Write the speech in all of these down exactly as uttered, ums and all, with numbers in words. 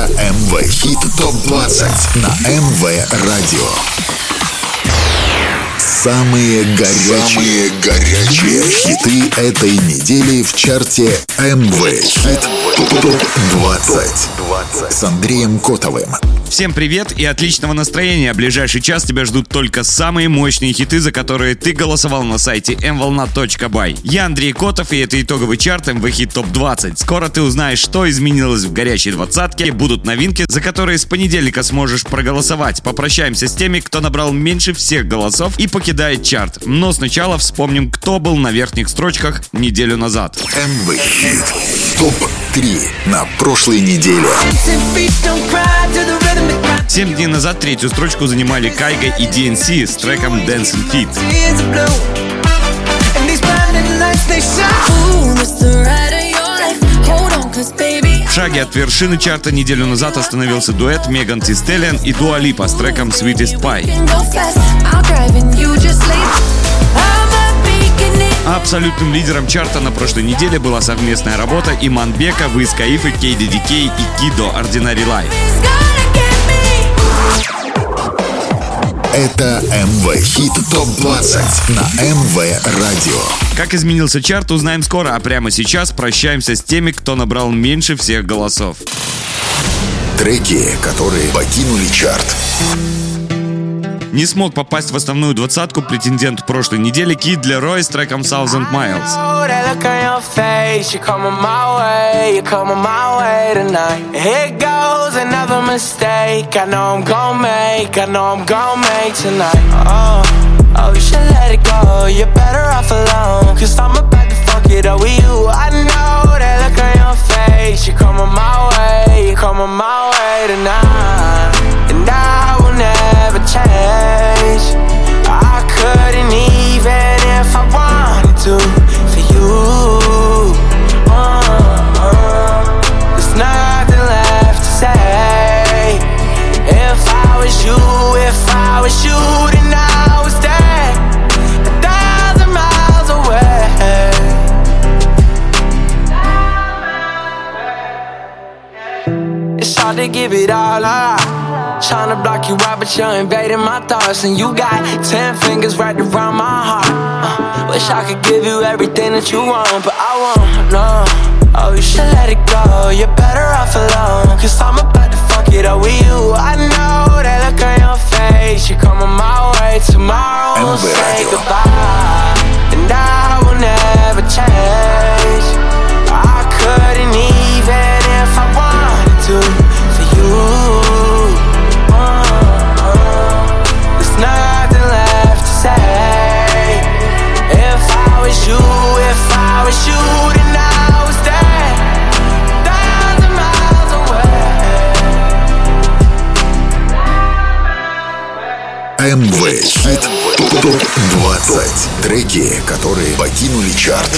эм вэ Хит топ двадцать на эм вэ Радио. Самые горячие, Самые горячие хиты этой недели в чарте эм вэ Хит топ двадцать с Андреем Котовым. Всем привет и отличного настроения. Ближайший час тебя ждут только самые мощные хиты, за которые ты голосовал на сайте эм волна точка бай. Я Андрей Котов, и это итоговый чарт эм вэ Хит топ двадцать. Скоро ты узнаешь, что изменилось в горячей двадцатке. Будут новинки, за которые с понедельника сможешь проголосовать. Попрощаемся с теми, кто набрал меньше всех голосов и покидает чарт. Но сначала вспомним, кто был на верхних строчках неделю назад. эм вэ Хит топ три на прошлой неделе. Семь дней назад третью строчку занимали Кайга и ди эн си с треком Dancing Feet. В шаге от вершины чарта неделю назад остановился дуэт Меган Ти Стеллион и Дуа Липа с треком Sweetest Pie. А абсолютным лидером чарта на прошлой неделе была совместная работа Иманбека, Wiz Khalifa, кей ди ди кей и Кидо Ordinary Life. Это эм вэ Хит топ двадцать на эм вэ Радио. Как изменился чарт, узнаем скоро, а прямо сейчас прощаемся с теми, кто набрал меньше всех голосов. Треки, которые покинули чарт. Не смог попасть в основную двадцатку претендент прошлой недели Kid Laroi с треком Thousand Miles. Never change. I couldn't even if I wanted to for you. Uh-uh. There's nothing left to say. If I was you, if I was you, then I would stay a thousand miles away. It's hard to give it all up. Tryna block you out, but you're invading my thoughts. And you got ten fingers wrapped around my heart. uh, Wish I could give you everything that you want, but I won't, no. Oh, you should let it go, you're better off alone. Cause I'm about to fuck it up with you. I know that look on your face. You're coming my way, tomorrow we'll say goodbye. And I will never change. I couldn't even if I wanted to for you. Nothing left to say. If I was you, if I was you, then I would stay a thousand miles away. эм вэ Хит топ двадцать. Треки, которые покинули чарт.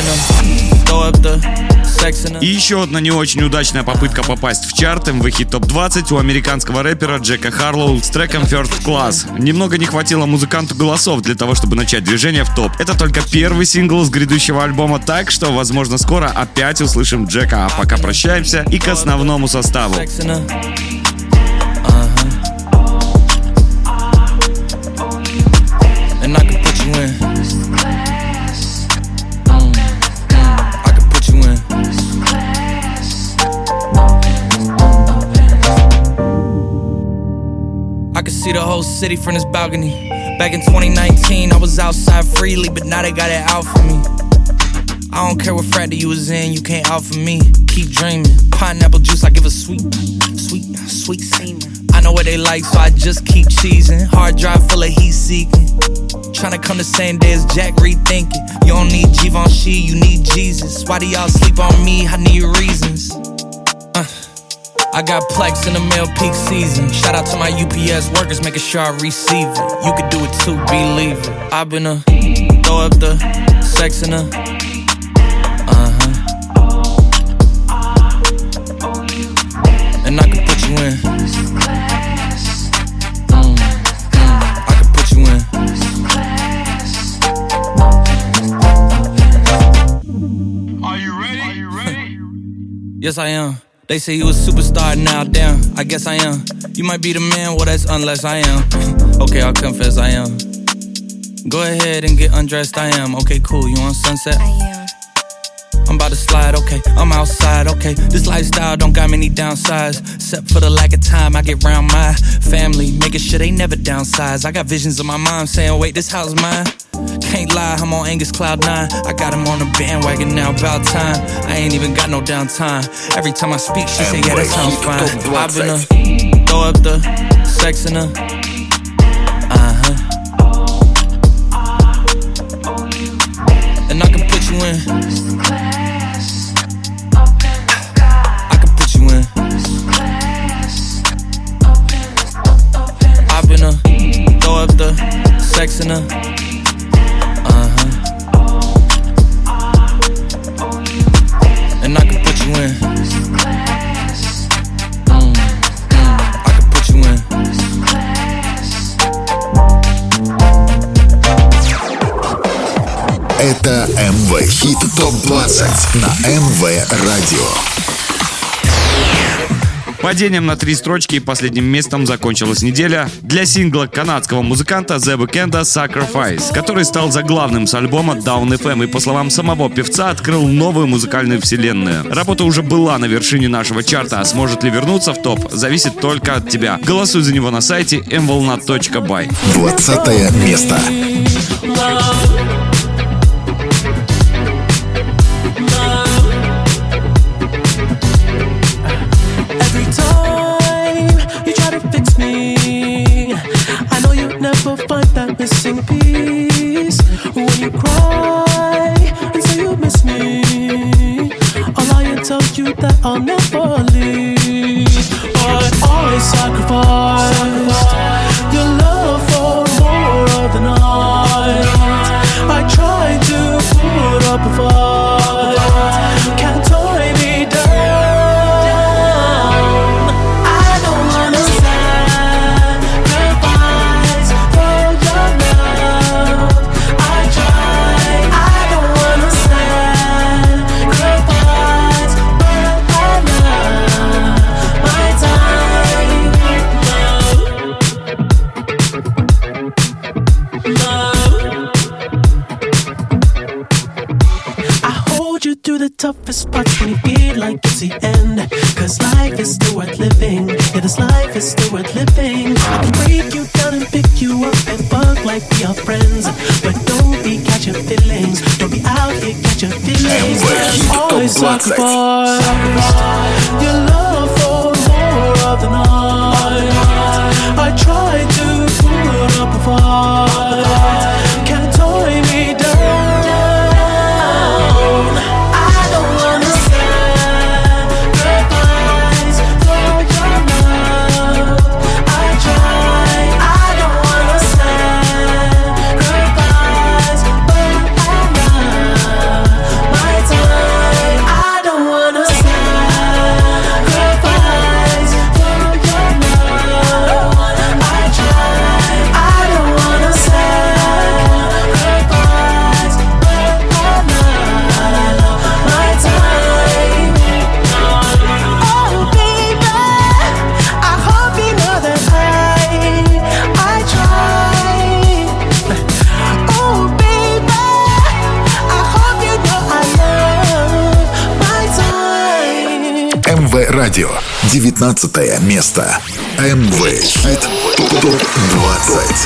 И еще одна не очень удачная попытка попасть в чарт эм вэ Хит топ двадцать у американского рэпера Джека Харлоу с треком First Class. Немного не хватило музыканту голосов для того, чтобы начать движение в топ. Это только первый сингл с грядущего альбома, так что, возможно, скоро опять услышим Джека. А пока прощаемся и к основному составу. I could see the whole city from this balcony. Back in twenty nineteen, I was outside freely, but now they got it out for me. I don't care what frat you was in, you can't out for me. Keep dreaming. Pineapple juice, I give a sweet, sweet, sweet semen. I know what they like, so I just keep cheesing. Hard drive full of heat seeking. Tryna come the same day as Jack, rethinking. You don't need Givenchy, you need Jesus. Why do y'all sleep on me? I need reasons. Uh. I got Plex in the mail peak season. Shout out to my U P S workers, making sure I receive it. You could do it too, believe it. I've been a throw up the sex in a uh-huh. And I can put you in. Mm, mm, I can put you in. Are you ready? Are you ready? Yes, I am. They say you a superstar now, damn, I guess I am. You might be the man, well that's unless I am. Okay, I'll confess I am. Go ahead and get undressed, I am. Okay, cool, you on Sunset? I am. I'm about to slide, okay, I'm outside, okay. This lifestyle don't got many downsides, except for the lack of time I get around my family, making sure they never downsize. I got visions of my mom saying, wait, this house mine. Can't lie, I'm on Angus Cloud nine. I got him on the bandwagon now, about time. I ain't even got no downtime. Every time I speak, she say, yeah, that sounds fine. I've been a throw up the sex in her. Uh-huh. And I can put you in. I can put you in. I've been a throw up the sex in her. And I can put you in. Mm, mm, I can put you in. Это эм вэ Хит топ двадцать на эм вэ Радио. Падением на три строчки и последним местом закончилась неделя для сингла канадского музыканта The Weeknd Sacrifice, который стал заглавным с альбома Down эф эм и, по словам самого певца, открыл новую музыкальную вселенную. Работа уже была на вершине нашего чарта, а сможет ли вернуться в топ, зависит только от тебя. Голосуй за него на сайте эм волна точка бай. Двадцатое место. Find that missing piece when you cry and say you miss me. I'll lie and tell you that I'll never leave, but I sacrificed your love for more of the night. I tried to put up a fight, can't tie me down. I don't wanna toughest parts when you feel like it's the end. Cause life is still worth living. Yeah, this life is still worth living. I can break you down and pick you up and fuck like we are friends. But don't be catching feelings. Don't be out here catching feelings. Always sacrifice your love for more of the night. I tried to put up a fight, can't tie me down. Радио. девятнадцатое место. эм вэ Хит топ двадцать.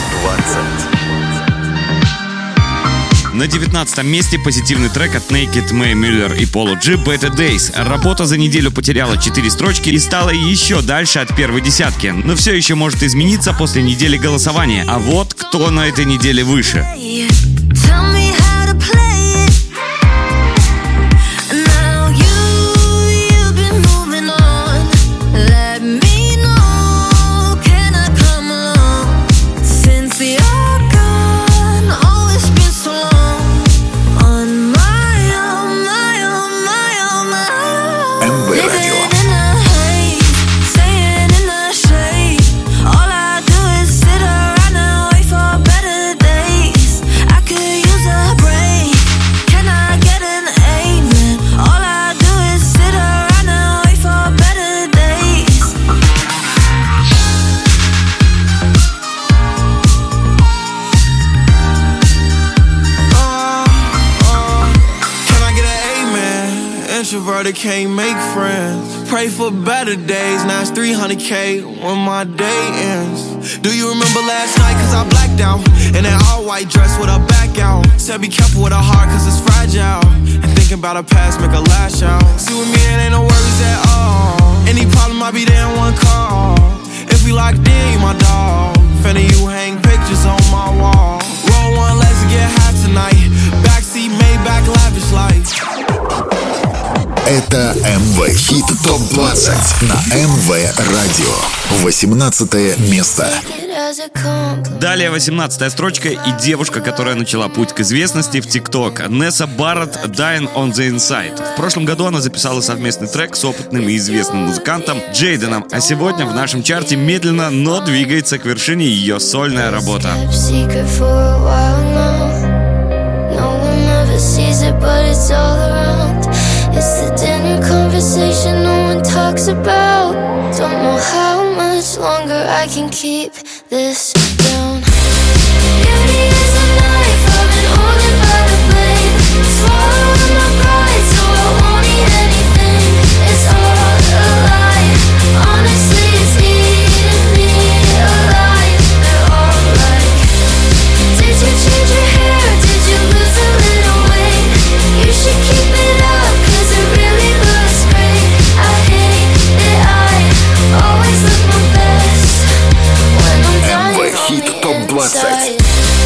На девятнадцатом месте позитивный трек от Naked, Мэй Мюллер и Polo G Better Days. Работа за неделю потеряла четыре строчки и стала еще дальше от первой десятки. Но все еще может измениться после недели голосования. А вот кто на этой неделе выше. All I do is sit around and wait for better days. I could use a brother can't make friends. Pray for better days, now it's three hundred K when my day ends. Do you remember last night, cause I blacked out in that all white dress with her back out. Said be careful with her heart cause it's fragile, and thinking about her past make her lash out. See with me it ain't no worries at all. Any problem I be there in one call. If we locked in, you my dog. Finna you hang pictures on my wall. Roll one, let's get high tonight. Backseat Maybach, lavish life. Это эм вэ Хит топ двадцать на эм вэ Радио. восемнадцатое место. Далее восемнадцатая строчка и девушка, которая начала путь к известности в ТикТок. Несса Барретт, Dying on the Inside. В прошлом году она записала совместный трек с опытным и известным музыкантом Джейденом, а сегодня в нашем чарте медленно, но двигается к вершине ее сольная работа. It's the dinner conversation no one talks about. Don't know how much longer I can keep this down. Beauty is a knife, I've been holding by the blade. Swallowing my pride, so I won't eat anything. It's all a lie, honestly it's eating me alive. They're all like, did you change your hair, did you lose a little weight? You should keep it up, cause it really looks great. I hate that I always look my best when I'm dying эм вэ Хит топ двадцать.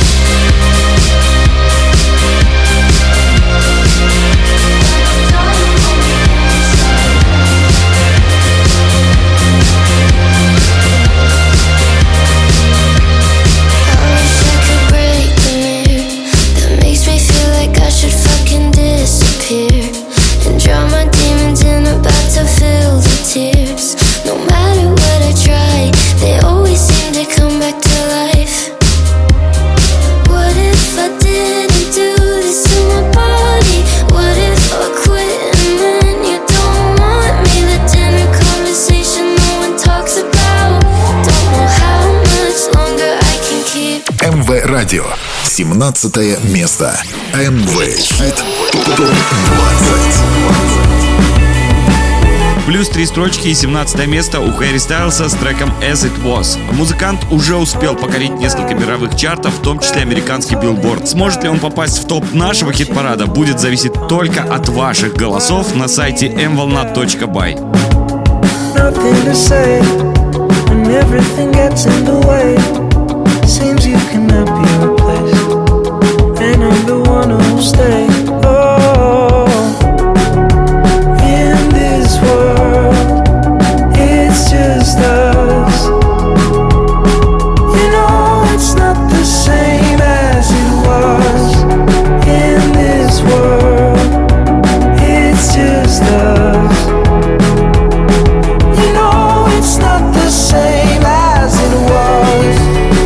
эм вэ Радио. семнадцатое место. эм вэ Хит топ двадцать. Плюс три строчки и семнадцатое место у Harry Styles'а с треком As It Was. Музыкант уже успел покорить несколько мировых чартов, в том числе американский Billboard. Сможет ли он попасть в топ нашего хит-парада, будет зависеть только от ваших голосов на сайте эм волна точка бай. Seems you cannot be replaced, and I'm the one who'll stay. Oh, in this world, it's just us. You know it's not the same as it was. In this world, it's just us. You know it's not the same as it was.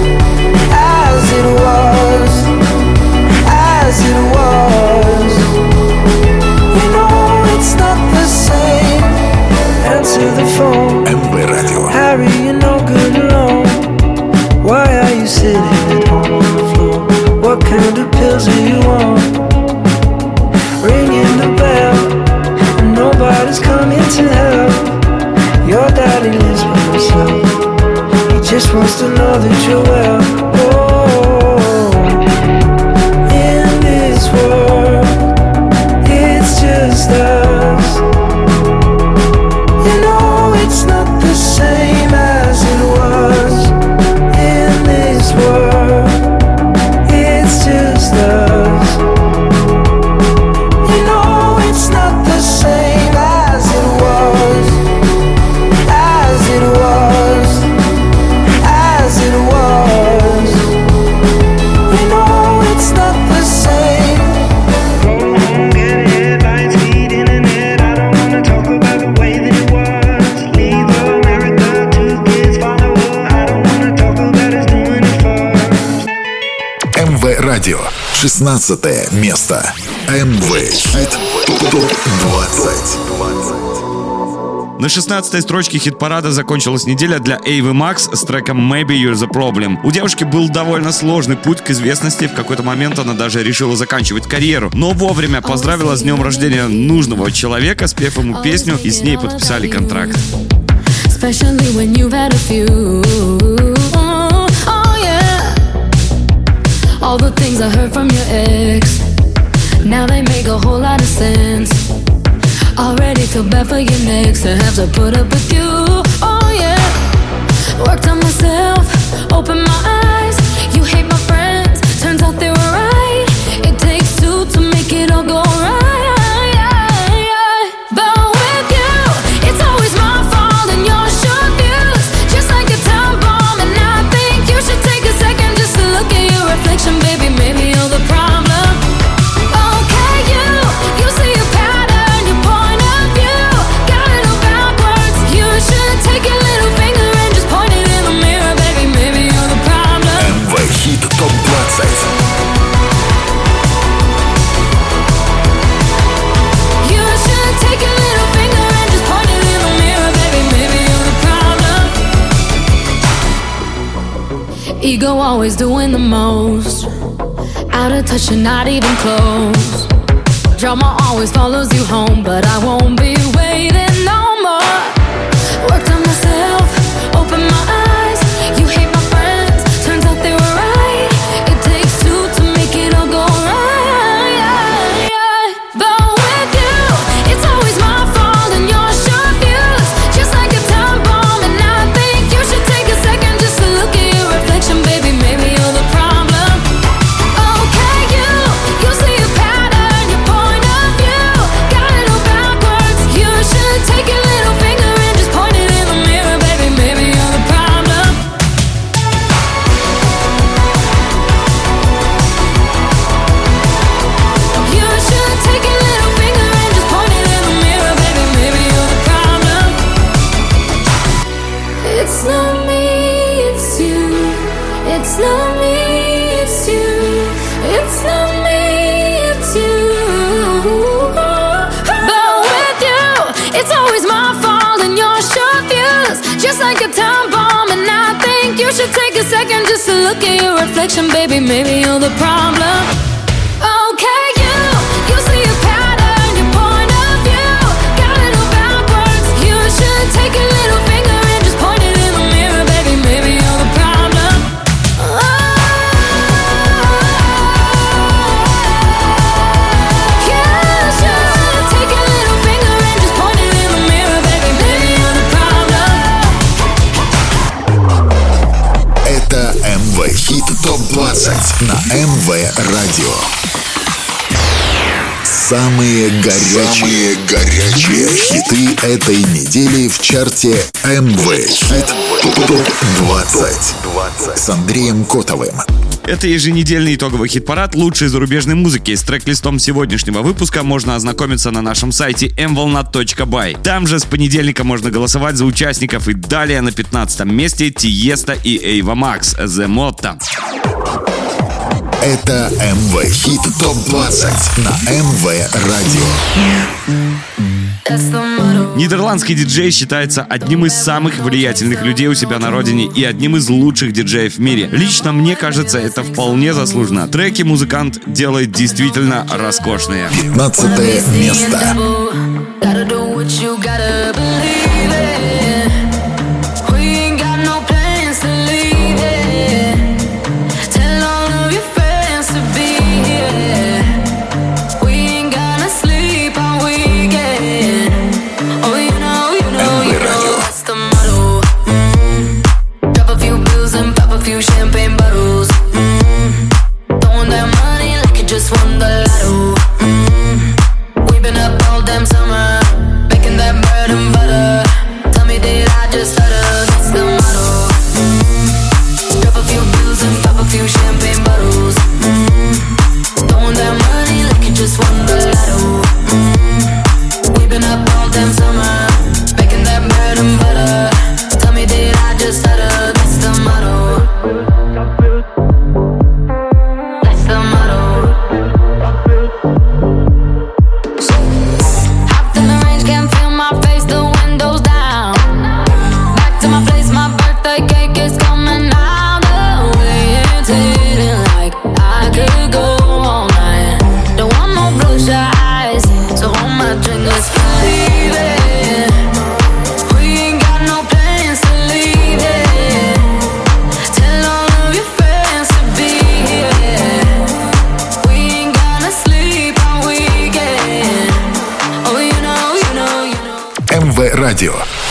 эм вэ Радио. Harry, you're no good alone. Why are you sitting at home on the floor? What kind of pills are you on? Ringing the bell, and nobody's coming to help. Your daddy lives by himself. He just wants to know that you're well. Oh, in this world, it's just us. You know it's not the same as it was. In this world, it's just us. You know it's not the same as it was. As it was. As it was. You know it's not the same. Go home, get headlines, feed internet. I don't wanna talk about the way that it was. Leave America to kids follow up. I don't wanna talk about us doing it first. эм вэ Радио. шестнадцатое место. эм вэ Хит топ двадцать. На шестнадцатой строчке хит-парада закончилась неделя для Эйвы Макс с треком Maybe You're the Problem. У девушки был довольно сложный путь к известности, в какой-то момент она даже решила заканчивать карьеру, но вовремя поздравила с днем рождения нужного человека, спев ему песню, и с ней подписали контракт. All the things I heard from your ex, now they make a whole lot of sense. Already feel bad for your next to have to put up with you. Oh yeah, worked on myself, opened my eyes. You hate my friends, turns out they were right. It takes two to make it all go right. But with you, it's always my fault and your short views, just like a time bomb. And I think you should take a second just to look at your reflection, baby. Maybe you're the problem. Okay, you, you see a pattern, your point of view, got it all backwards. You should take your little finger and just point it in the mirror, baby. Maybe you're the problem. эм вэ Хит топ двадцать. You should take your little finger and just point it in the mirror, baby. Maybe you're the problem. Ego always doing the most, out of touch and not even close. Drama always follows you home, but I won't be waiting no more. Worked on myself, opened my eyes. You hate my friends, turns out they were right. It takes two to make it all go right. But with you, it's always my fault and your short views, just like a time bomb. And I think you should take a second just to look at your reflection, baby. Maybe you're the problem. Okay, you, you see a pattern, your point of view, got it all backwards. You should take your little finger and just point it in the mirror, baby. Maybe you're the problem. You should take your little finger and just point it in the mirror, baby. Maybe you're the problem. It's not me, it's you. It's not me, it's you. It's not me, it's you. But with you, it's always my fault and your short views, just like a time bomb. And I think you should take a second just to look at your reflection, baby. Maybe you're the problem. Okay, you, you see a pattern, your point of view, got it all backwards. You should take your little finger and just point it in the mirror, baby. Maybe you're the problem. You should take your little finger and just point it in the mirror, baby. Maybe you're the problem. Это эм вэ Хит топ двадцать на эм вэ Радио. Самые горячие, Самые горячие хиты этой недели в чарте эм вэ Хит топ двадцать с Андреем Котовым. Это еженедельный итоговый хит-парад лучшей зарубежной музыки. С трек-листом сегодняшнего выпуска можно ознакомиться на нашем сайте эм волна точка бай. Там же с понедельника можно голосовать за участников. И далее на пятнадцатом месте Тиеста и Эйва Макс «The Motto». Это эм вэ Хит топ двадцать на эм вэ Радио. Нидерландский диджей считается одним из самых влиятельных людей у себя на родине и одним из лучших диджеев в мире. Лично мне кажется, это вполне заслуженно. Треки музыкант делает действительно роскошные. пятнадцатое место. Champagne bottles, mm-hmm. Throwing that money like you just won the lotto. Mm-hmm. We've been up all damn summer, making that bread and butter.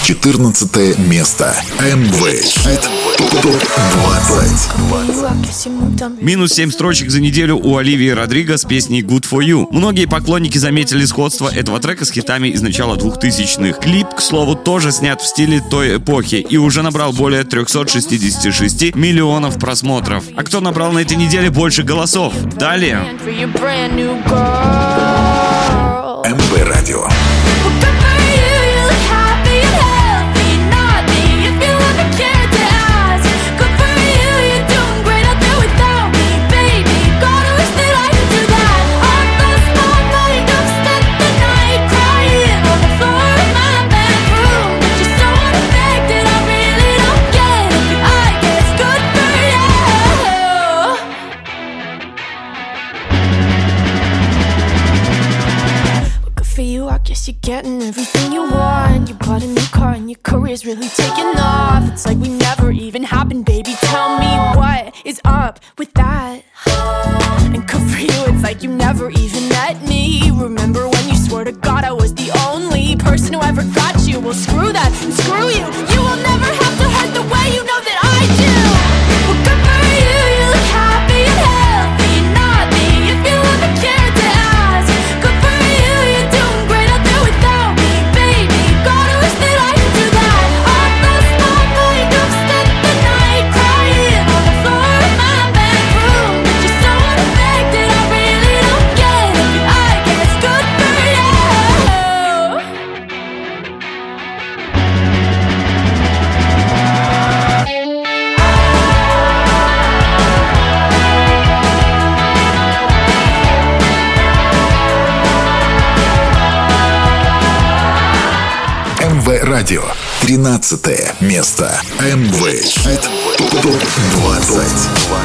четырнадцатое место. эм вэ Хит топ двадцать. Минус семь строчек за неделю у Оливии Родриго с песней Good For You. Многие поклонники заметили сходство этого трека с хитами из начала двухтысячных. Клип, к слову, тоже снят в стиле той эпохи и уже набрал более триста шестьдесят шесть миллионов просмотров. А кто набрал на этой неделе больше голосов? Далее. эм вэ Радио. You're getting everything you want. You bought a new car and your career's really taking off. It's like we never even happened, baby. Tell me what is up with that. And good for you, it's like you never even met me. Remember when you swore to God I was the only person who ever got you? Well, screw that and screw you. You will never have to hurt the way you know that I do. Well, good for you, you look happy and healthy. Not me, if you ever cared to ask. Good for you, you're doing great out there without me, baby. Gotta wish that I could do that. I lost my mind, I've spent the night crying on the floor of my bedroom. But you're so unaffected, I really don't get it. I guess good for you. эм вэ Радио. тринадцатое место. эм вэ Хит топ двадцать.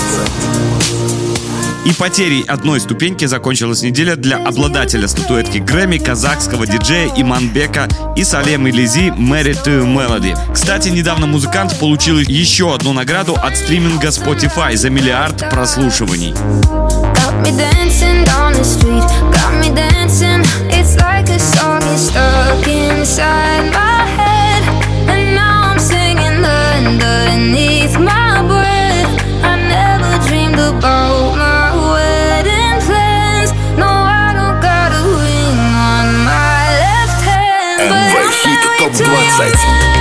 И потерей одной ступеньки закончилась неделя для обладателя статуэтки Грэмми, казахского диджея Иманбека и Салем Илизи «Married to Melody». Кстати, недавно музыкант получил еще одну награду от стриминга Spotify за миллиард прослушиваний. топ двадцать.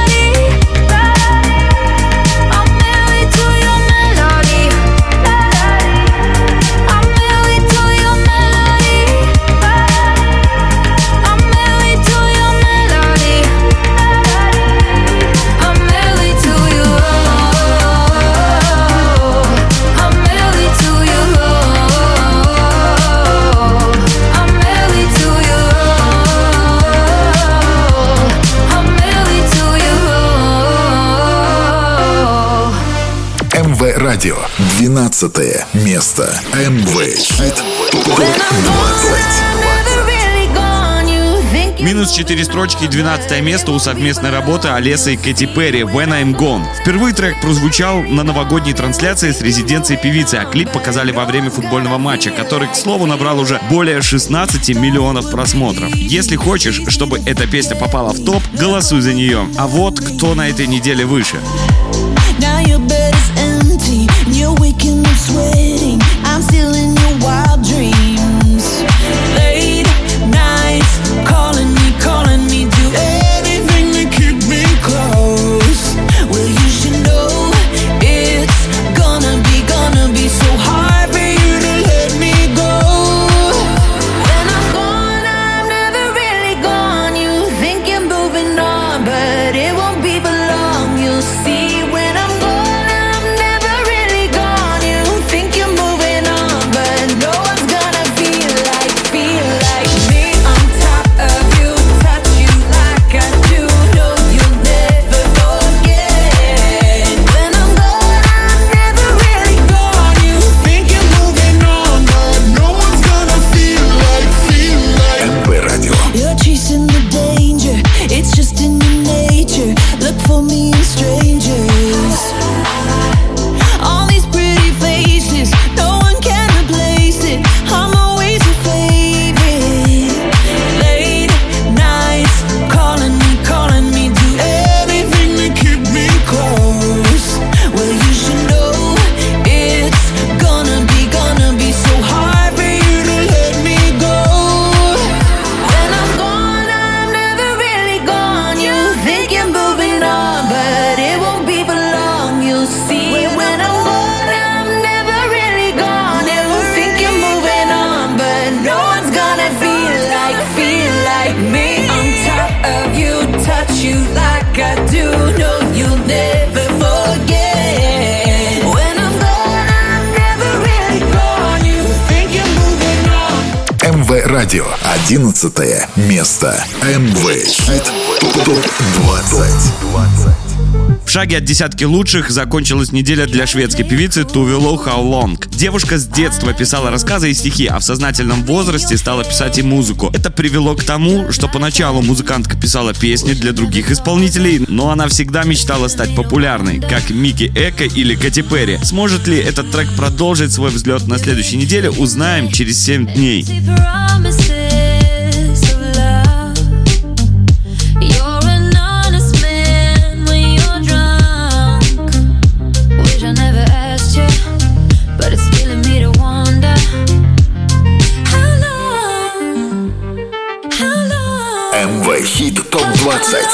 Радио. двенадцатое место. эм вэ Хит топ двадцать. Минус четыре строчки и двенадцатое место у совместной работы Алесы и Кэти Перри «When I'm Gone». Впервые трек прозвучал на новогодней трансляции с резиденцией певицы, а клип показали во время футбольного матча, который, к слову, набрал уже более шестнадцать миллионов просмотров. Если хочешь, чтобы эта песня попала в топ, голосуй за нее. А вот кто на этой неделе выше. You're waking up sweating. I'm still in your wild dreams. Late nights, calling me, calling me. Do anything to keep me close. Well, you should know it's gonna be, gonna be so hard for you to let me go. When I'm gone, I'm never really gone. You think you're moving on, but it won't be for long. You'll see when I'm gone. Think you радио. Одиннадцатое место. эм вэ Хит топ двадцать. В шаге от десятки лучших закончилась неделя для шведской певицы Туве Lo How Long. Девушка с детства писала рассказы и стихи, а в сознательном возрасте стала писать и музыку. Это привело к тому, что поначалу музыкантка писала песни для других исполнителей, но она всегда мечтала стать популярной, как Микки Эко или Кэти Перри. Сможет ли этот трек продолжить свой взлет на следующей неделе, узнаем через семь дней. эм вэ Хит топ двадцать.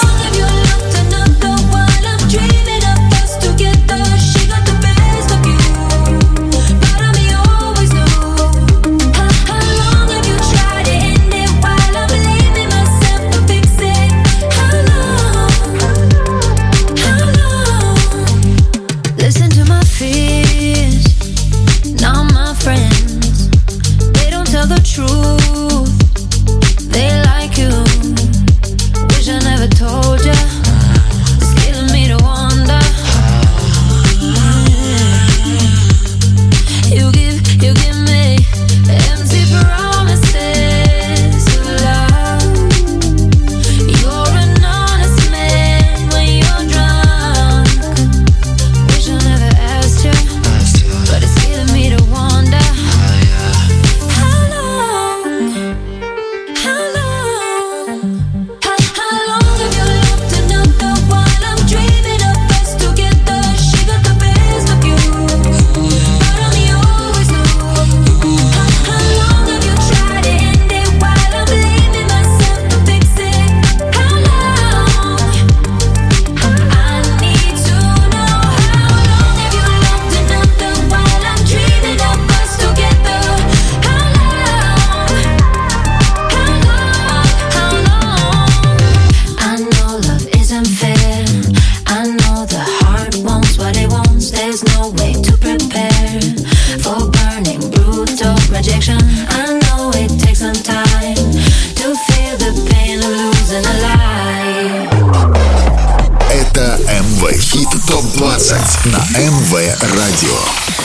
На эм вэ радио.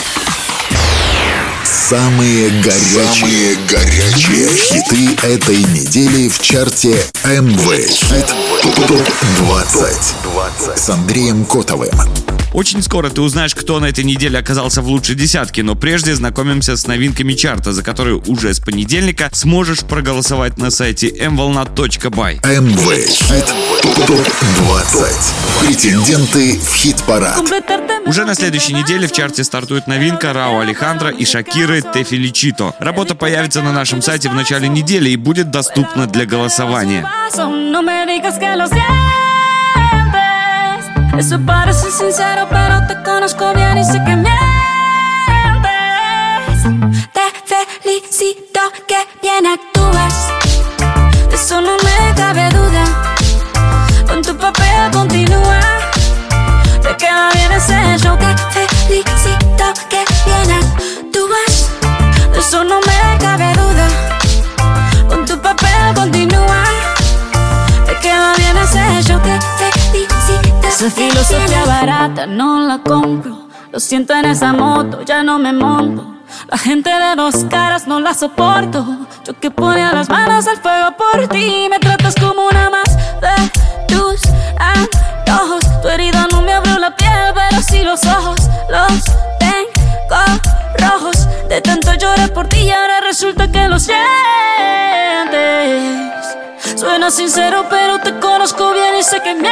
Самые горячие, Самые горячие хиты этой недели в чарте эм вэ Хит топ двадцать с Андреем Котовым. Очень скоро ты узнаешь, кто на этой неделе оказался в лучшей десятке, но прежде знакомимся с новинками чарта, за которые уже с понедельника сможешь проголосовать на сайте эм волна точка бай. эм вэ Хит топ двадцать. Претенденты в хит-парад. Уже на следующей неделе в чарте стартует новинка Рауа Алехандро и Шакиры «Te Felicito». Работа появится на нашем сайте в начале недели и будет доступна для голосования. Eso parece sincero, pero te conozco bien y sé que mientes. Te felicito que bien actúas, de eso no me cabe duda. Con tu papel continúa, te queda bien ese show. Te felicito que bien actúas, de eso no me cabe duda. Con tu papel continúa, te queda bien ese show. Te felicito. Esa filosofía barata no la compro. Lo siento en esa moto, ya no me monto. La gente de dos caras no la soporto. Yo que ponía las manos al fuego por ti. Me tratas como una más de tus antojos. Tu herida no me abrió la piel, pero sí los ojos. Los tengo rojos. De tanto lloré por ti y ahora resulta que lo sientes. Suena sincero, pero te conozco bien y sé que mientes.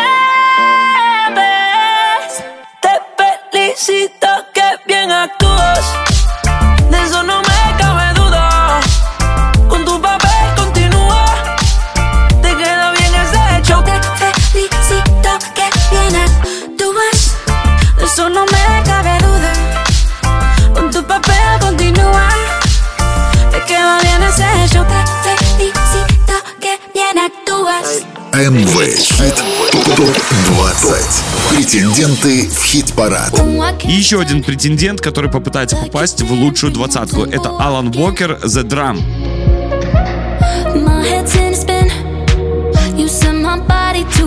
Te felicito que bien actúas, de eso no me cabe duda. Con tu papel continúa, te queda bien ese show. Te felicito que bien actúas, de eso no me cabe duda. Con tu papel continúa, te queda bien ese show. Te felicito que bien actúas. эм вэ Хит топ двадцать. Претенденты в хит-парад. И еще один претендент, который попытается попасть в лучшую двадцатку. Это Алан Уокер «The Drum».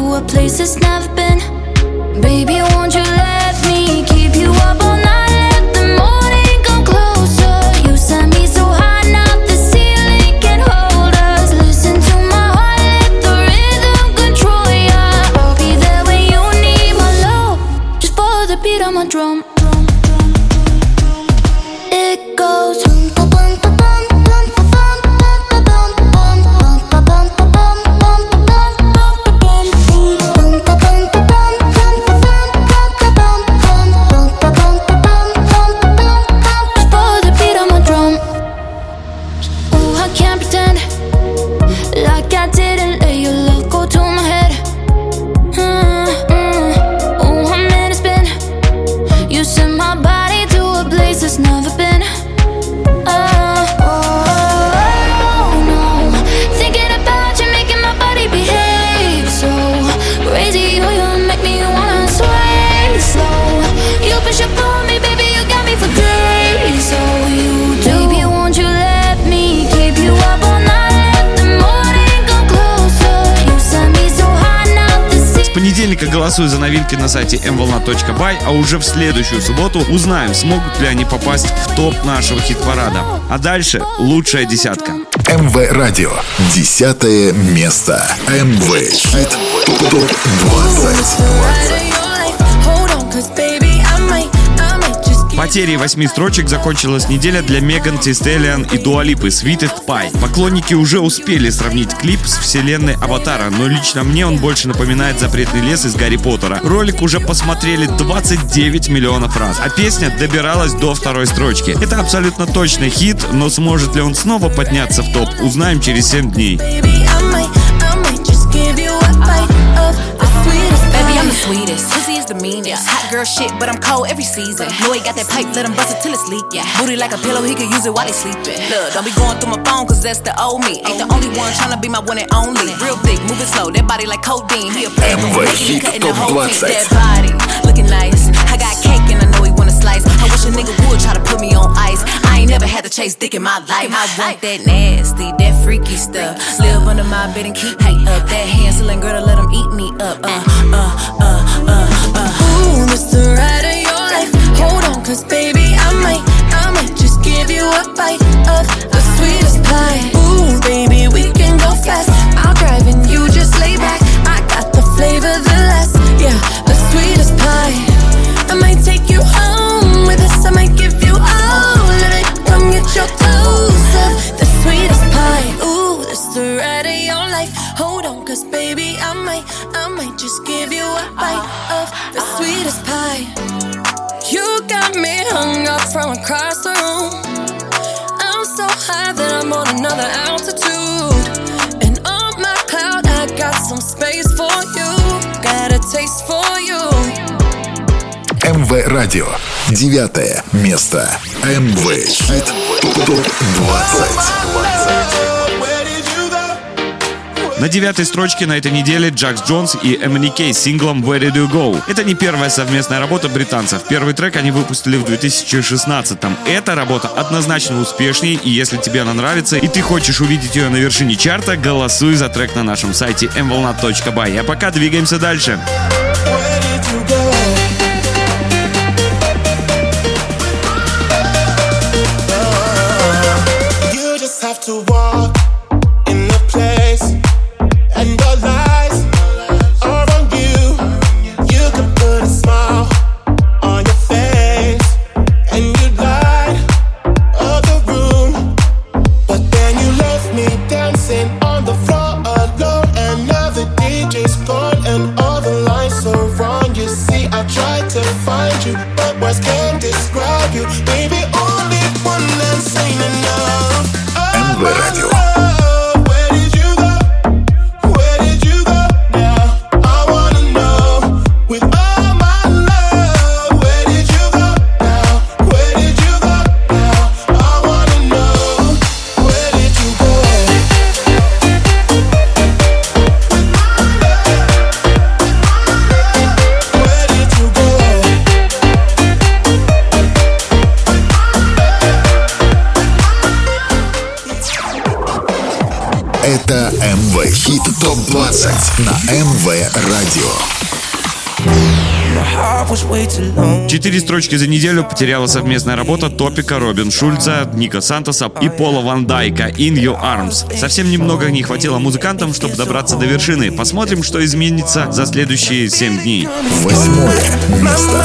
a place that's never been. Baby, won't you let me keep you up all night? Let the morning come closer. You set me so high, now the ceiling can hold us. Listen to my heart, let the rhythm control ya. I'll be there when you need my love. Just follow the beat on my drum. It goes. Голосуй за новинки на сайте эм волна точка бай, а уже в следующую субботу узнаем, смогут ли они попасть в топ нашего хит-парада. А дальше лучшая десятка. эм вэ Радио. Десятое место. эм вэ Хит топ двадцать. Потерей восьми строчек закончилась неделя для Меган Ти Стэллион и Дуа Липы Sweetest Pie. Поклонники уже успели сравнить клип с вселенной Аватара, но лично мне он больше напоминает запретный лес из Гарри Поттера. Ролик уже посмотрели двадцать девять миллионов раз, а песня добиралась до второй строчки. Это абсолютно точный хит, но сможет ли он снова подняться в топ, узнаем через семь дней. I'm the sweetest, pussy is the meanest. Hot girl shit, but I'm cold every season. Know he got that pipe, let him bust it till it's leak. Yeah. Booty like a pillow, he could use it while he sleeping. Look, don't be going through my phone, cause that's the old me. Ain't the only one tryna be my one and only. Real thick, moving slow, that body like codeine. He a player, эм вэ Хит топ двадцать. That body, looking nice. I got cake and I know he wanna slice. I wish a nigga would try to put me on ice. I ain't never had to chase dick in my life. I want that nasty, that freaky stuff. Live under my bed and keep me up. That hand-selling girl to let him eat me up. Uh, uh, uh, uh. Uh. Ooh, this the ride of your life. Hold on, cause baby, I might, I might just give you a bite of the sweetest pie. Ooh, baby, we can go fast. I'll drive and you just lay back. I got the flavor, the last, yeah, the sweetest pie. I might take you home with us. I might give you all of it. Come get your clothes up. The sweetest pie. Ooh, this the ride of your life. Hold on, cause baby, I might, I might just give you a bite of the sweetest pie. You got me hung up from across the room. I'm so high that I'm on another altitude. And on my cloud, I got some space for you. Got a taste for you. эм вэ Радио. Девятое место. эм вэ Хит топ двадцать. На девятой строчке на этой неделе Джакс Джонс и эм эн и кей с синглом Where Did You Go. Это не первая совместная работа британцев. Первый трек они выпустили в две тысячи шестнадцатом. Эта работа однозначно успешнее, и если тебе она нравится и ты хочешь увидеть ее на вершине чарта, голосуй за трек на нашем сайте эм волна точка бай. А пока двигаемся дальше. эм вэ Радио. двадцать на эм вэ Радио. Четыре строчки за неделю потеряла совместная работа Топика, Робин Шульца, Ника Сантоса и Пола Ван Дайка «In Your Arms». Совсем немного не хватило музыкантам, чтобы добраться до вершины. Посмотрим, что изменится за следующие семь дней. Восьмое место.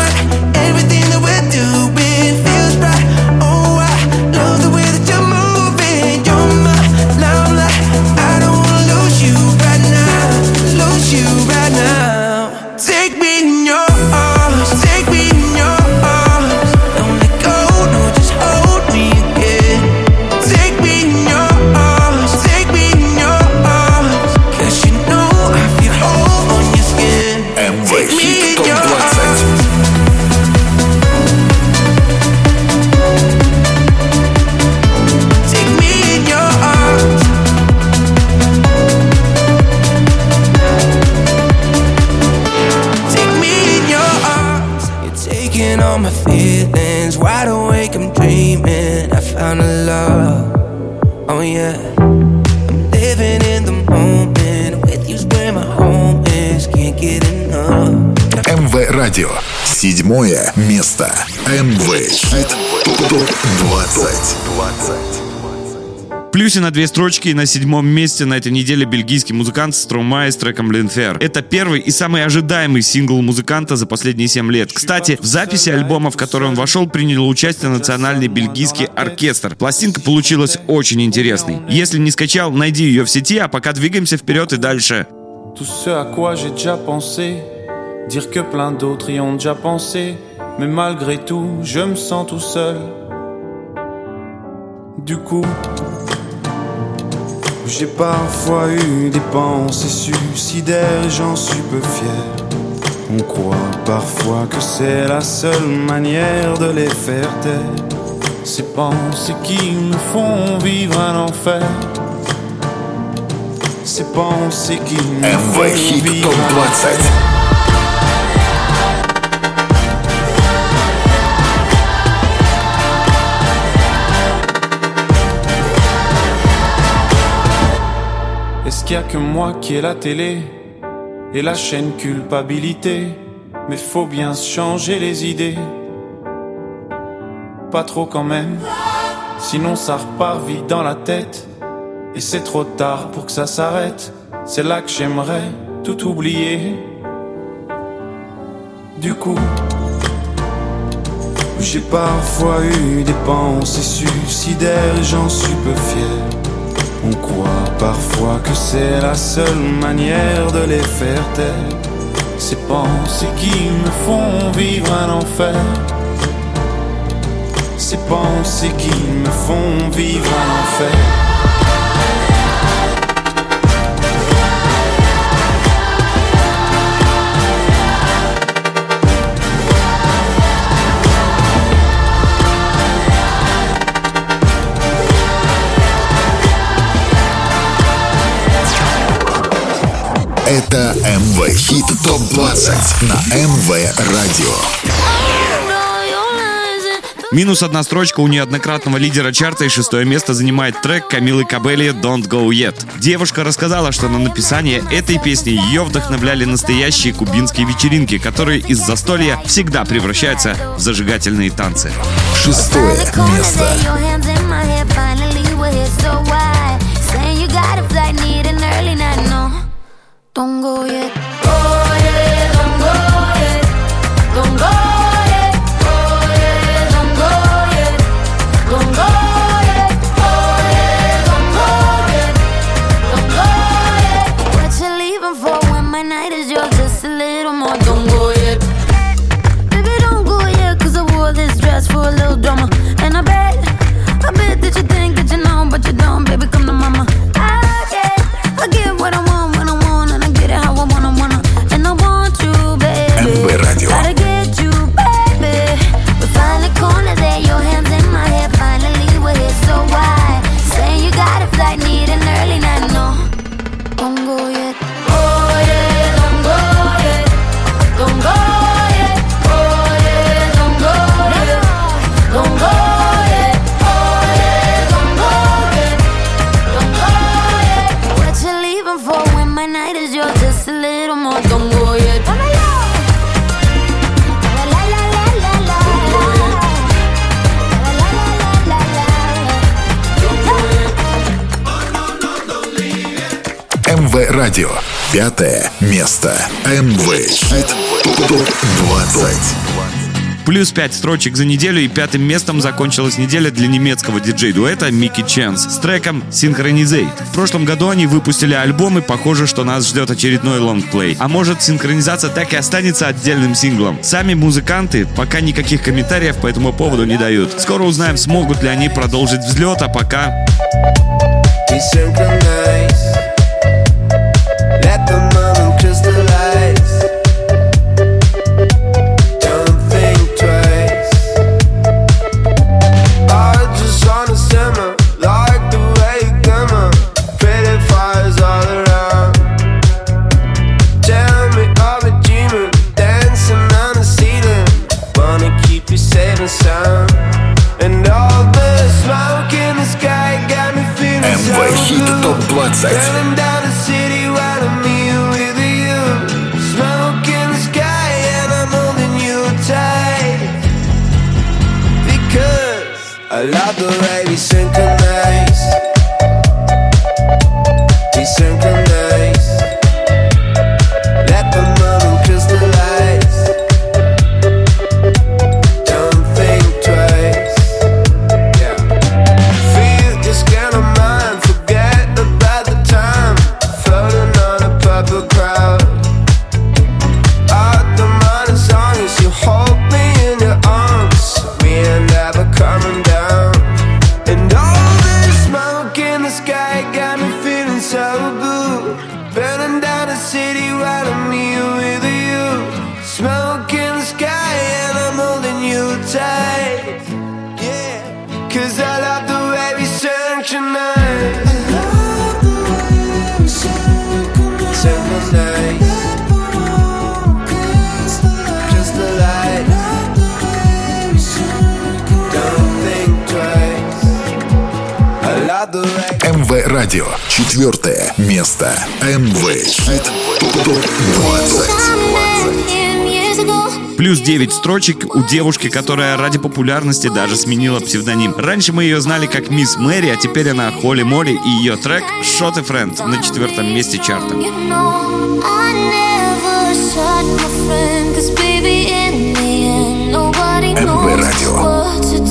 эм вэ Радио. Седьмое место. эм вэ Хит топ двадцать. В плюсе на две строчки и на седьмом месте на этой неделе бельгийский музыкант Stromae с треком «L'Enfer». Это первый и самый ожидаемый сингл музыканта за последние семь лет. Кстати, в записи альбома, в который он вошел, принял участие национальный бельгийский оркестр. Пластинка получилась очень интересной. Если не скачал, найди ее в сети, а пока двигаемся вперед и дальше. Tout ce à quoi j'ai déjà pensé, dire que plein d'autres y ont déjà pensé, mais malgré tout, je me sens tout seul. Du coup, j'ai parfois eu des pensées suicidaires et j'en suis peu fier. On croit parfois que c'est la seule manière de les faire taire. Ces pensées qui me font vivre un enfer. Ces pensées qui me font vivre un enfer. Est-ce qu'il y a que moi qui ai la télé et la chaîne culpabilité? Mais faut bien se changer les idées. Pas trop quand même, sinon ça repart vite dans la tête. Et c'est trop tard pour que ça s'arrête. C'est là que j'aimerais tout oublier. Du coup, j'ai parfois eu des pensées suicidaires et j'en suis peu fier. On croit parfois que c'est la seule manière de les faire taire. Ces pensées qui me font vivre un enfer. Ces pensées qui me font vivre un enfer. Это эм вэ Хит топ двадцать на эм вэ Радио. Минус одна строчка у неоднократного лидера чарта, и шестое место занимает трек Камилы Кабелли «Don't Go Yet». Девушка рассказала, что на написание этой песни ее вдохновляли настоящие кубинские вечеринки, которые из застолья всегда превращаются в зажигательные танцы. Шестое место. Don't go yet. Oh yeah, don't go yet. Don't go yet. Oh yeah, don't go yet. Don't go yet. Oh yeah, don't go yet. Don't go yet. What you leaving for when my night is yours? Just a little more. Don't go yet. Baby, don't go yet, 'cause I wore this dress for a little drama. And I bet, I bet that you think that you know, but you don't. Baby, come to mama. I get, I get what I want. How I wanna, wanna, and I want you, baby. эм вэ Радио. Gotta get you, baby. We find the corner there, your hands in my hair. Finally we're here, so why? Saying you got a flight, need an early night, no. Don't go yet. Oh yeah, don't go yet. Don't go yet. Oh yeah, don't go yet. Don't go yet. Oh yeah, don't go yet. радио. Пятое место. эм вэ Хит топ двадцать. Плюс пять строчек за неделю, и пятым местом закончилась неделя для немецкого диджей-дуэта Mickey Chance с треком Synchronizate. В прошлом году они выпустили альбом, и похоже, что нас ждет очередной лонгплей. А может, синхронизация так и останется отдельным синглом. Сами музыканты пока никаких комментариев по этому поводу не дают. Скоро узнаем, смогут ли они продолжить взлет, а пока... топ двадцать. I love the way we synchronize. We synchronize. Let the moment crystallize. Don't think twice. Yeah. Feel just kind of mind. Forget about the time. Floating on a purple crowd. Out the mind is on as you hold me in your arms. We ain't never coming down. эм вэ Радио. Четвертое место. эм вэ Хит топ двадцать. Плюс девять строчек у девушки, которая ради популярности даже сменила псевдоним. Раньше мы ее знали как Мисс Мэри, а теперь она Холли Молли, и ее трек «Shot a Friend» на четвертом месте чарта. эм вэ Радио.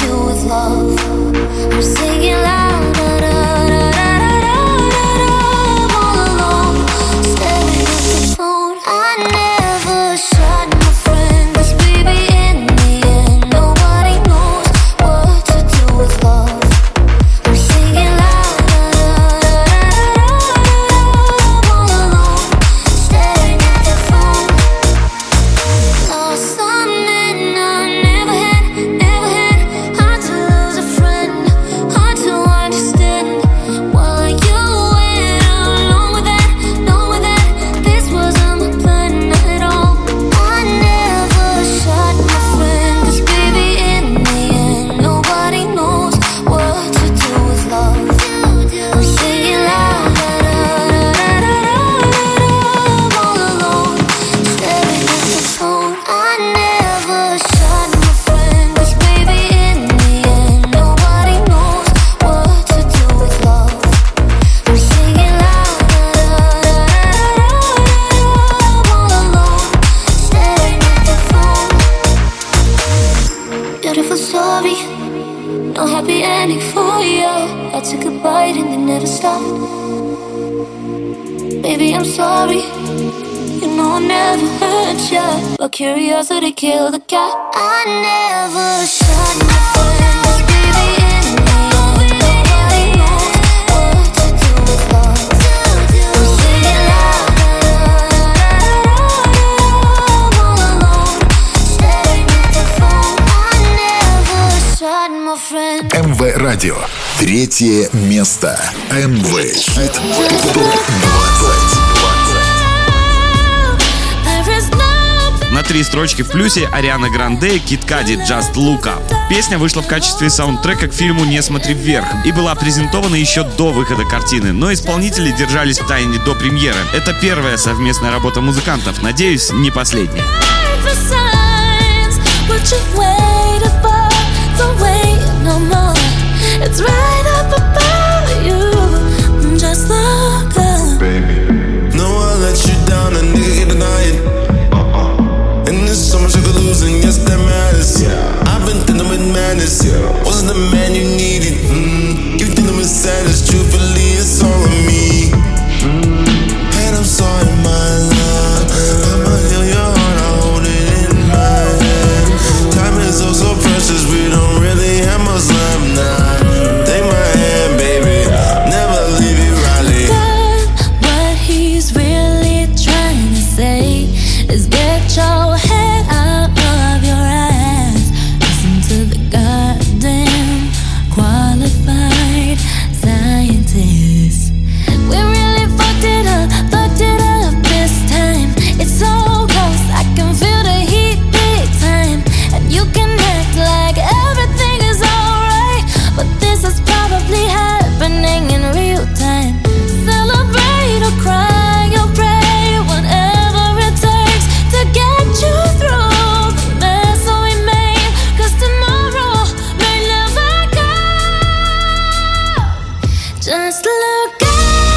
Curiosity killed the cat. I never shot my friends, baby, in the end. Nobody knows what to do with love. I'm singing loud, I'm all alone, staring at the phone. I never shot my friends. эм вэ Радио. Третье место. эм вэ Хит топ двадцать. На три строчки в плюсе Ариана Гранде, Кид Кади, Just Look Up. Песня вышла в качестве саундтрека к фильму «Не смотри вверх» и была презентована еще до выхода картины, но исполнители держались в тайне до премьеры. Это первая совместная работа музыкантов, надеюсь, не последняя. Baby. No So much I could lose and yes that matters. I've been thinking with madness. Wasn't the man you needed. Mm. You think I'm sadness. Truthfully, it's all on me. And I'm sorry, my love. I'ma heal your heart, I hold it in my hand. Time is oh so precious, we don't really have much left now. Take my hand, baby, never leave you, Riley. What he's really trying to say is get your head out of your ass. Listen to the goddamn qualified scientists. We really fucked it up, fucked it up this time. It's so close, I can feel the heat big time. And you can act like everything is alright, but this is probably happening in real time. Celebrate or cry or pray, whatever it takes to get you through the mess that we made. Cause tomorrow may never come. Just look out.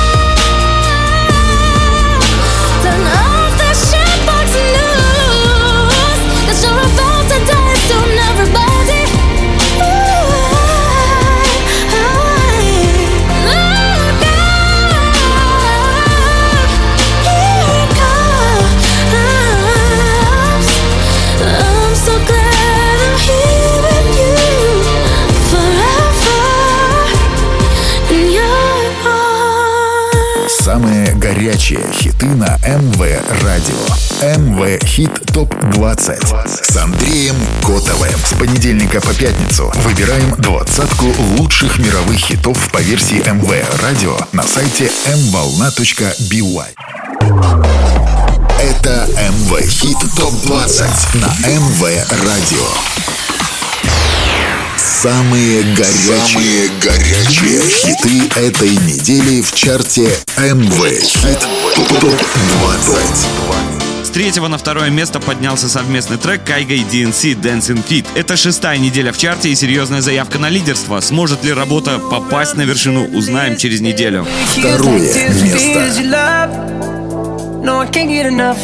Turn off the shitbox news, cause you're about to die soon, everybody. Ooh, look out. Here it comes. I'm so glad I'm here with you forever in your arms. Самые горячие хиты на эм вэ Радио. эм вэ Хит топ двадцать с Андреем Котовым. С понедельника по пятницу выбираем двадцатку лучших мировых хитов по версии эм вэ Радио на сайте эм волна точка би уай. Это эм вэ Хит топ двадцать на эм вэ Радио. Самые горячие, Самые горячие хиты этой недели в чарте эм вэ Хит топ двадцать. С третьего на второе место поднялся совместный трек Кайго и ди эн си Dancing Feet. Это шестая неделя в чарте и серьезная заявка на лидерство. Сможет ли работа попасть на вершину, узнаем через неделю. Второе место. No, I can't get enough.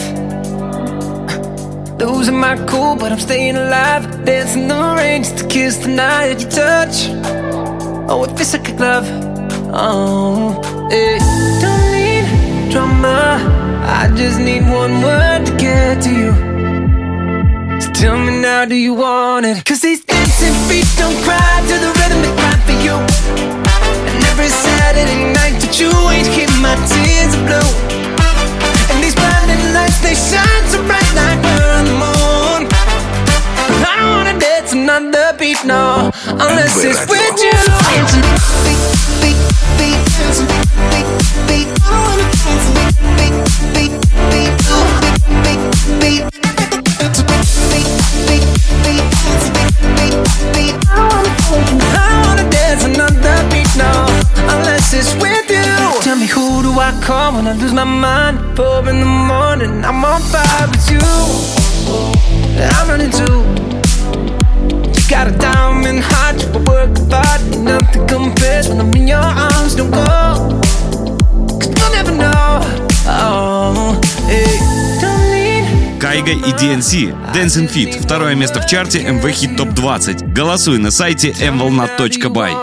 Losing my cool, but I'm staying alive. Dancing the rain just to kiss the night you touch. Oh, it feels like a glove. Oh, hey. Don't need drama, I just need one word to get to you. So tell me now, do you want it? Cause these dancing feet don't cry to the rhythm they cry for you. And every Saturday night that you ain't keep my tears are blue. And these blinding lights, they shine so bright like we're on the moon. I don't wanna dance another beat, no, unless it's with you. Dancing beat, beat, beat, dancing beat, beat, I don't wanna dance beat, beat, beat, beat, beat, beat, dancing beat, beat, beat, dancing beat, beat, I don't wanna dance, I don't wanna dance another beat, no, unless it's with you. Tell me, who do I call when I lose my mind? Four in the morning, I'm on fire with you. I'm running too. You got a diamond heart, you work hard, nothing compares when I'm in your arms. Don't go, cause you'll never know. Oh, hey, don't need. Кайго и ди эн си Dancing Feet. Второе место в чарте эм вэ Хит топ двадцать. Голосуй на сайте эм волна точка бай.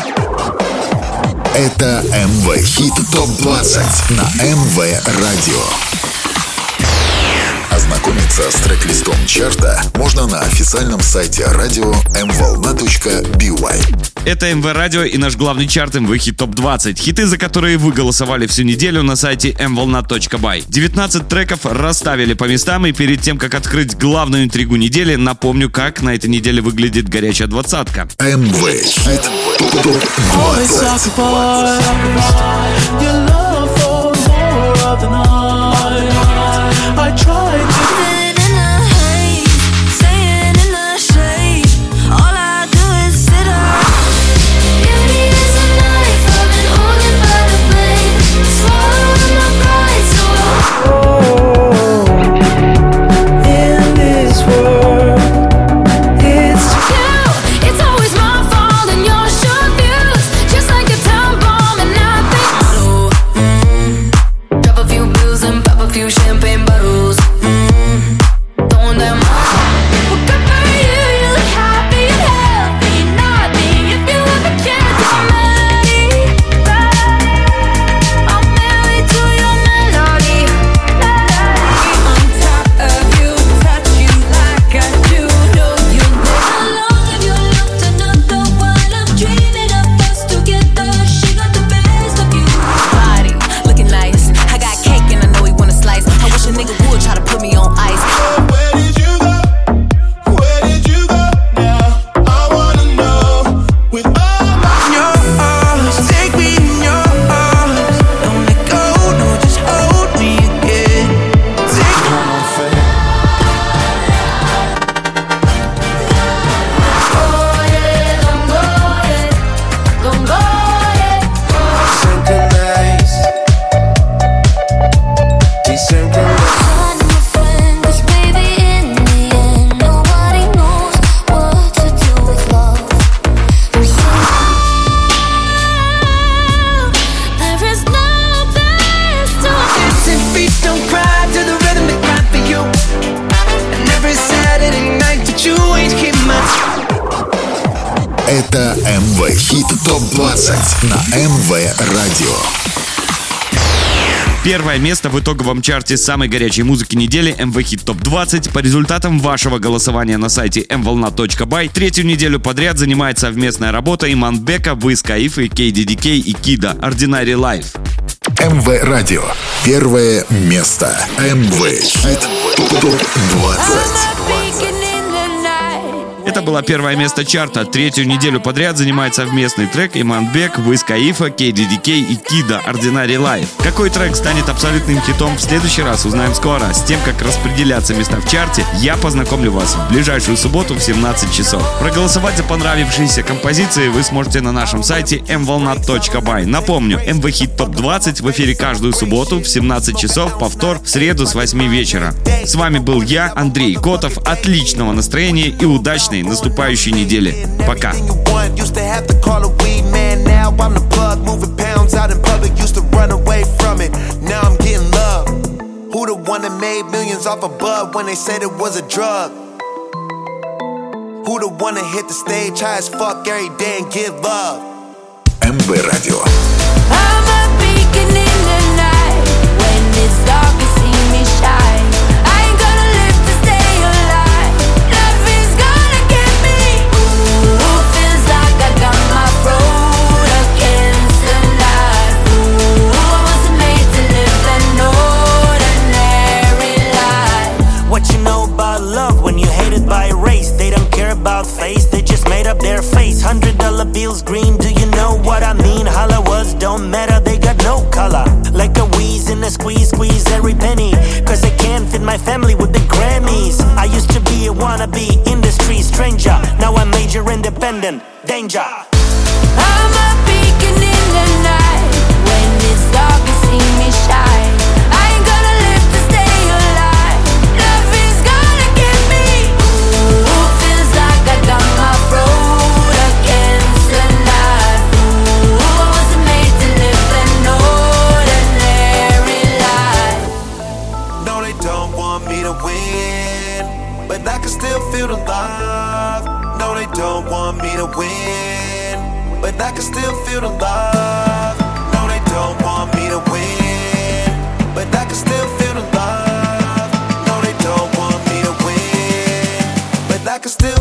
Это эм вэ Хит топ двадцать на эм вэ Радио. Ознакомиться с трек-листом чарта можно на официальном сайте радио эм волна точка би уай. Это эм вэ Радио и наш главный чарт эм вэ Хит топ двадцать. Хиты, за которые вы голосовали всю неделю на сайте эм волна точка бай. девятнадцать треков расставили по местам, и перед тем, как открыть главную интригу недели, напомню, как на этой неделе выглядит горячая двадцатка. эм вэ Хит топ двадцать. I tried living in the haze, staying in the shade. All I do is sit up. Beauty is a knife, I've been holding by the blade, swallowing my pride so oh, in this world, it's you. It's always my fault and your short views, just like a time bomb, and I think so. Mm, drop a few bills and pop a few champagne bottles. Mm. Это эм вэ Хит топ двадцать на эм вэ Радио. Первое место в итоговом чарте самой горячей музыки недели эм вэ Хит топ двадцать по результатам вашего голосования на сайте эм волна точка бай. Третью неделю подряд занимает совместная работа Иманбека, Wiz Khalifa, кей ди ди кей и Kida Ordinary Life. эм вэ Радио. Первое место. эм вэ Хит топ двадцать. Это было первое место чарта. Третью неделю подряд занимает совместный трек Иманбек, Wiz Khalifa, кей ди ди кей и Kida Ordinary Life. Какой трек станет абсолютным хитом, в следующий раз узнаем скоро. С тем, как распределяться места в чарте, я познакомлю вас в ближайшую субботу в семнадцать часов. Проголосовать за понравившиеся композиции вы сможете на нашем сайте эм волна точка бай. Напомню, эм вэ Хит топ двадцать в эфире каждую субботу в семнадцать часов, повтор в среду с восьми вечера. С вами был я, Андрей Котов. Отличного настроения и удачной наступающей недели. Пока. Who the one that made millions off a bud when they said it was a drug? Who the one that hit the stage high as fuck every day and give love? эм вэ Радио. I'm a beacon in the night. When it's dark, you see me shine. I ain't gonna live to stay alive. Nothing's gonna get me. Ooh, feels like I got my road against the night. Ooh, I wasn't made to live an ordinary life. What you know about love when you hated by race? They don't care about face, they just made up their face. Hundred dollar bills green, do you know what I mean? Holla words don't matter, they got no color. Like a wheeze in a squeeze, squeeze every penny. Cause they can't fit my family with the Grammys. I used to be a wannabe industry stranger. Now I'm major independent, danger. I'm a beacon in the night. When it's dark, you see me shine. I ain't gonna live to stay alive. Nothing's gonna get me. Ooh, feels like I got my road against the night. Ooh, I wasn't made to live an ordinary life. No, they don't want me to win, but I can still feel the love. No, they don't want me to win, but I can still feel the love. No, they don't want me to win, but I can still feel the love. No, they don't want me to win, but I can still